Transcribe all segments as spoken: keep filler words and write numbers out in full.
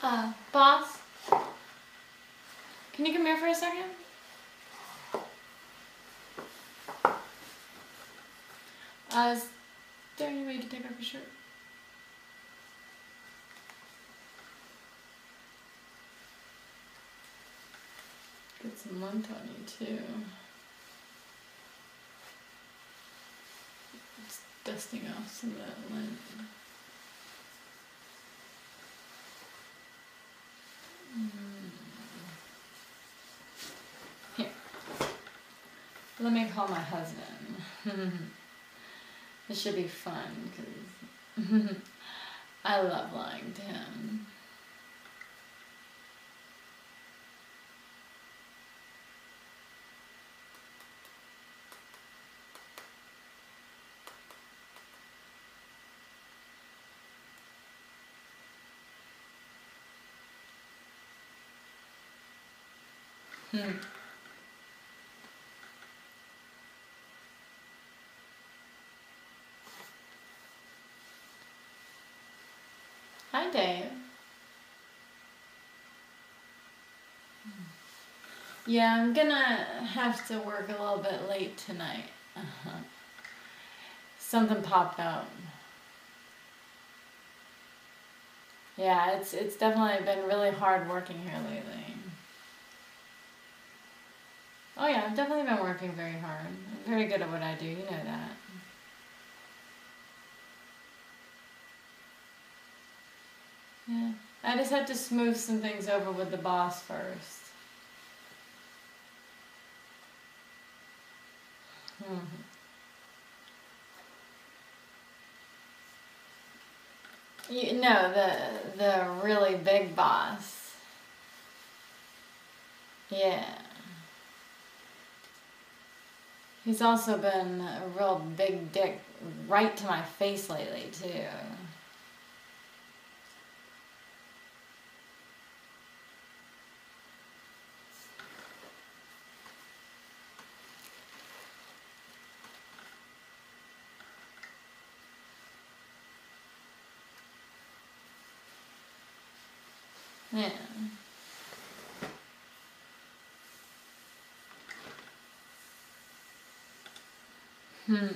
Uh, boss, can you come here for a second? Uh, is there any way you can take off your shirt? Get some lint on you too. Just dusting off some of that lint. Here. Let me call my husband. This should be fun because I love lying to him. Hmm. Hi, Dave. Yeah, I'm gonna have to work a little bit late tonight. Uh-huh. Something popped out. Yeah, it's it's definitely been really hard working here lately. Oh yeah, I've definitely been working very hard. I'm very good at what I do, you know that. Yeah, I just had to smooth some things over with the boss first. Hmm. You know, the the really big boss. Yeah. He's also been a real big dick right to my face lately, too. Yeah. Hmm.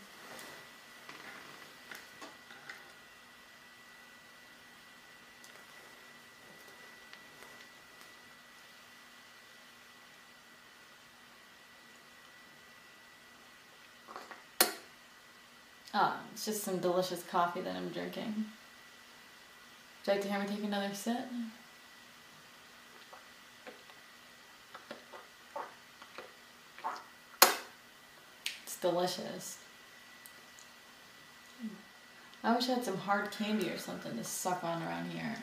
Oh, it's just some delicious coffee that I'm drinking. Would you like to hear me take another sip? It's delicious. I wish I had some hard candy or something to suck on around here.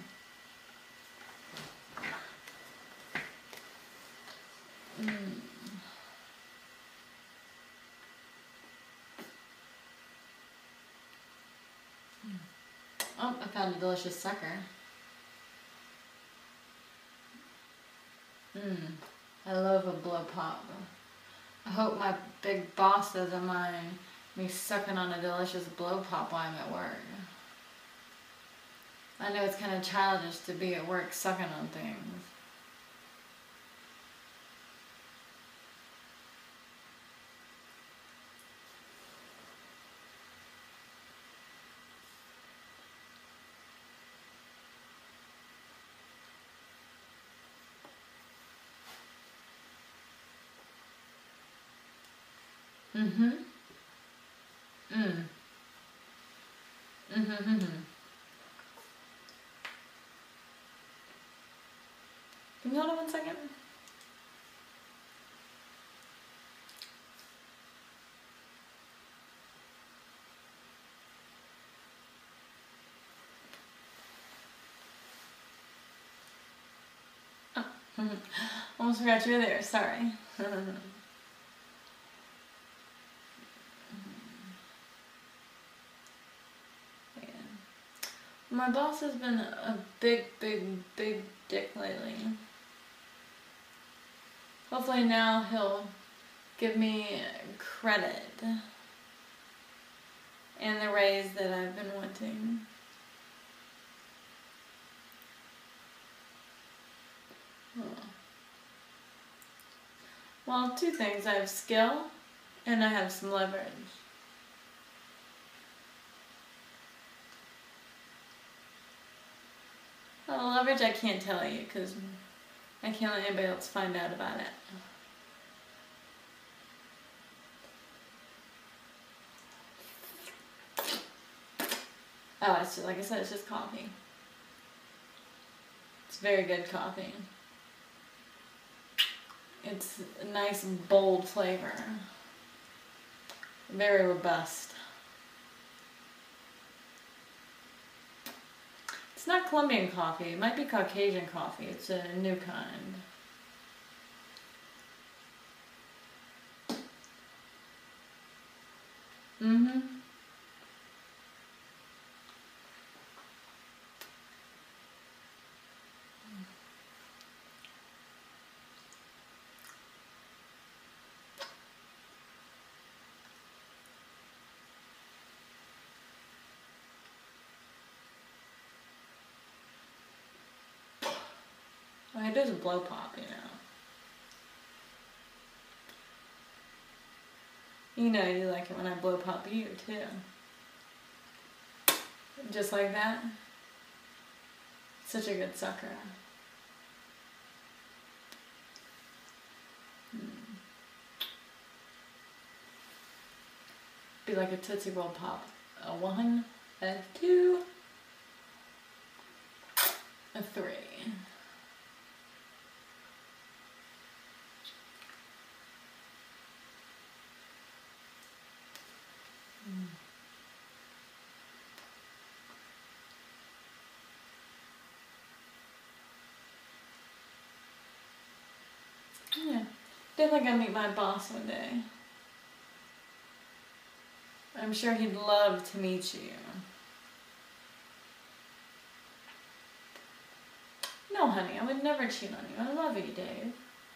Mm. Oh, I found a delicious sucker. Mmm. I love a blow pop. I hope my big boss doesn't mind me sucking on a delicious blow pop while I'm at work. I know it's kind of childish to be at work sucking on things. Mm-hmm. Mm. Mm-hmm, mm-hmm. Can you hold on one second? Oh. Almost forgot you were there, sorry. My boss has been a big, big, big dick lately. Hopefully now he'll give me credit and the raise that I've been wanting. Oh. Well, two things. I have skill and I have some leverage. Well, leverage I can't tell you because I can't let anybody else find out about it. Oh, it's just, like I said, it's just coffee. It's very good coffee. It's a nice bold flavor. Very robust. It's not Colombian coffee. It might be Caucasian coffee. It's a new kind. Mm-hmm. Well, it does a blow pop, you know. You know you like it when I blow pop you, too. Just like that. Such a good sucker. Hmm. Be like a Tootsie Roll Pop. A one, a two, a three. Yeah, definitely gonna meet my boss one day. I'm sure he'd love to meet you. No, honey, I would never cheat on you. I love you, Dave.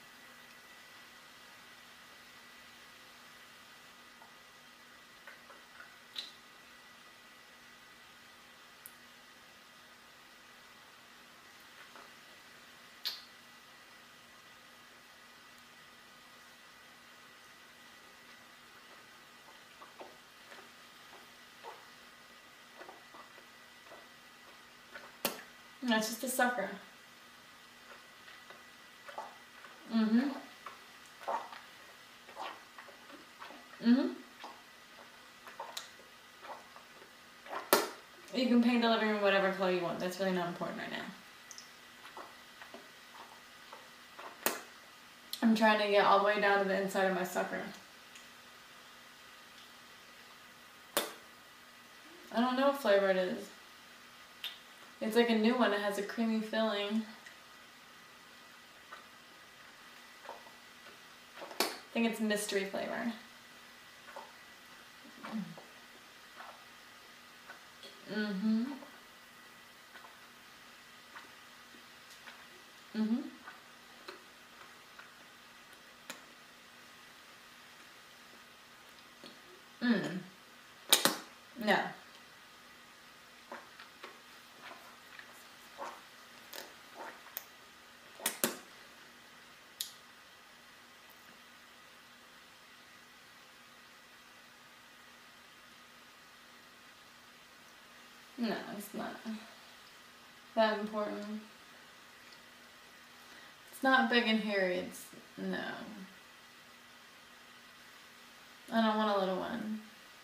That's just a sucker. Mm-hmm. Mm-hmm. You can paint the living room whatever color you want. That's really not important right now. I'm trying to get all the way down to the inside of my sucker. I don't know what flavor it is. It's like a new one. It has a creamy filling. I think it's mystery flavor. Mm-hmm. Mm-hmm. Mm. No. No, it's not that important. It's not big and hairy. It's no. I don't want a little one.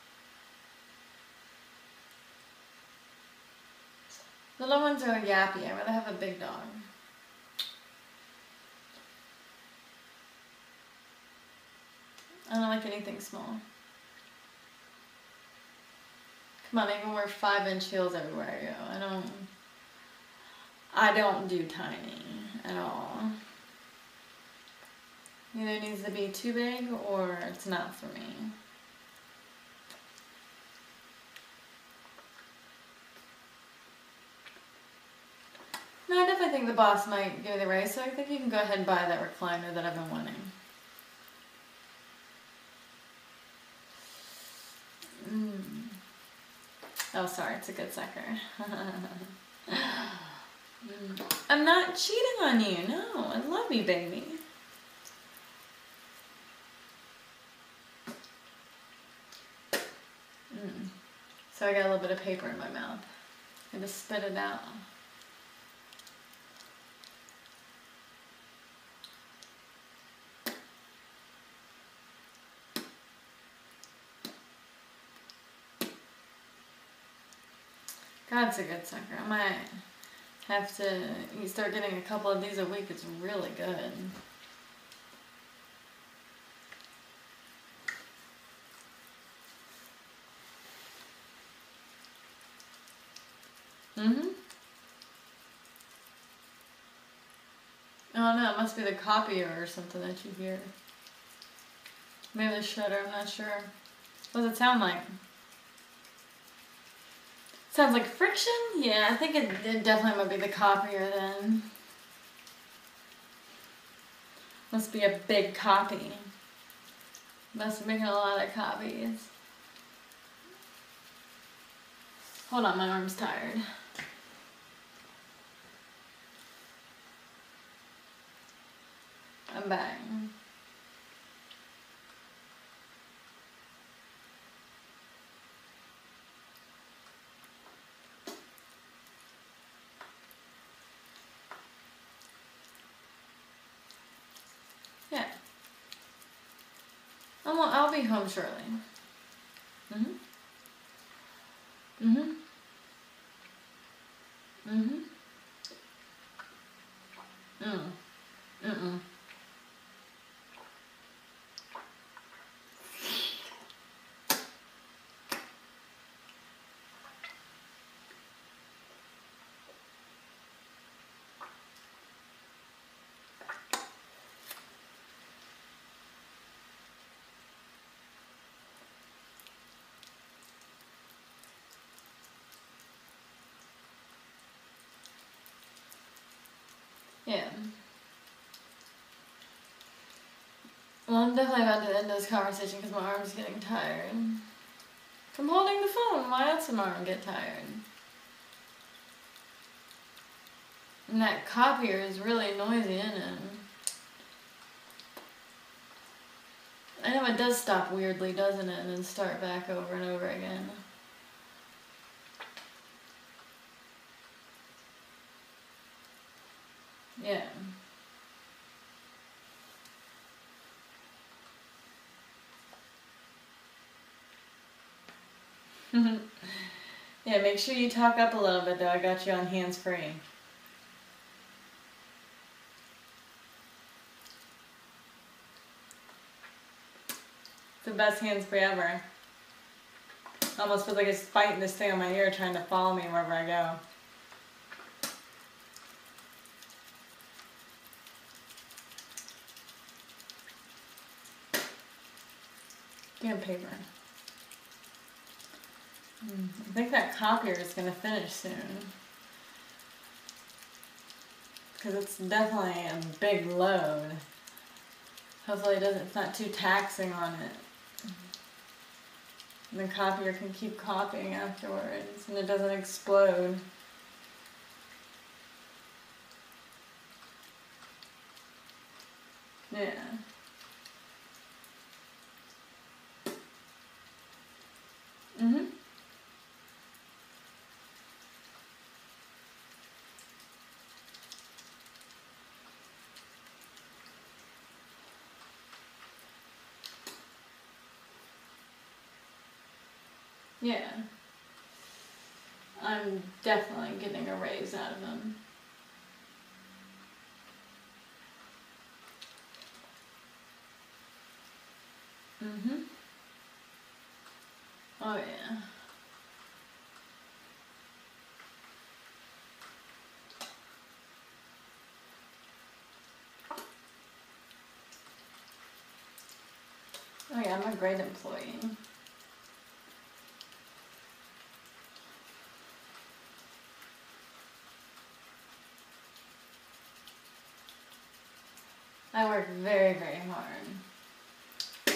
Little ones are yappy. I'd rather have a big dog. I don't like anything small. Come on, I can wear five inch heels everywhere I go. I don't, I don't do tiny at all. Either it needs to be too big or it's not for me. No, I definitely think the boss might give me the raise, so I think you can go ahead and buy that recliner that I've been wanting. Mm. Oh, sorry, it's a good sucker. mm. I'm not cheating on you. No, I love you, baby. Mm. So I got a little bit of paper in my mouth. I just spit it out. God's a good sucker. I might have to you start getting a couple of these a week. It's really good. Mm-hmm. Oh no, it must be the copier or something that you hear. Maybe the shredder, I'm not sure. What does it sound like? Sounds like friction? Yeah, I think it, it definitely might be the copier then. Must be a big copy. Must be making a lot of copies. Hold on, my arm's tired. I'm back. Yeah. I'm, I'll be home shortly. Mm-hmm. Mm-hmm. Mm-hmm. Mm. Mm-mm. Yeah. Well, I'm definitely about to end this conversation because my arm's getting tired. From holding the phone, why else would my arm get tired? And that copier is really noisy, isn't it? I know it does stop weirdly, doesn't it? And then start back over and over again. Yeah. Yeah, make sure you talk up a little bit though. I got you on hands-free. It's the best hands-free ever. Almost feels like it's fighting this thing on my ear trying to follow me wherever I go. Damn paper. Mm, I think that copier is going to finish soon. Because it's definitely a big load. Hopefully it doesn't, it's not too taxing on it. And the copier can keep copying afterwards and it doesn't explode. Yeah. Mm-hmm. Yeah. I'm definitely getting a raise out of them. Mm-hmm. Oh yeah. Oh yeah, I'm a great employee. I work very, very hard.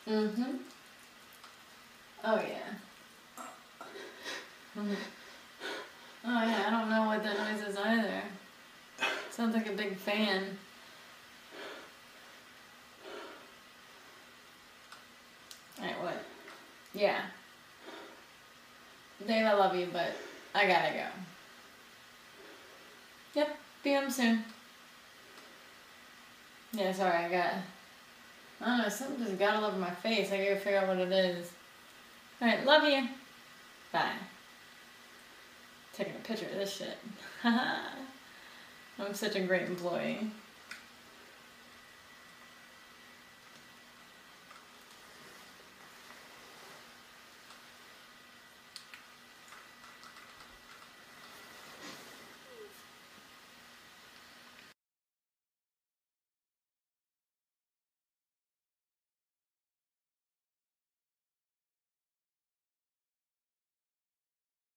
Mm-hmm. Oh, yeah. Mm-hmm. Oh, yeah, I don't know what that noise is either. Sounds like a big fan. Alright, what? Yeah. Dave, I love you, but I gotta go. Yep, be home soon. Yeah, sorry, I got... I don't know, something just got all over my face. I gotta figure out what it is. Alright, love you. Bye. Taking a picture of this shit. I'm such a great employee.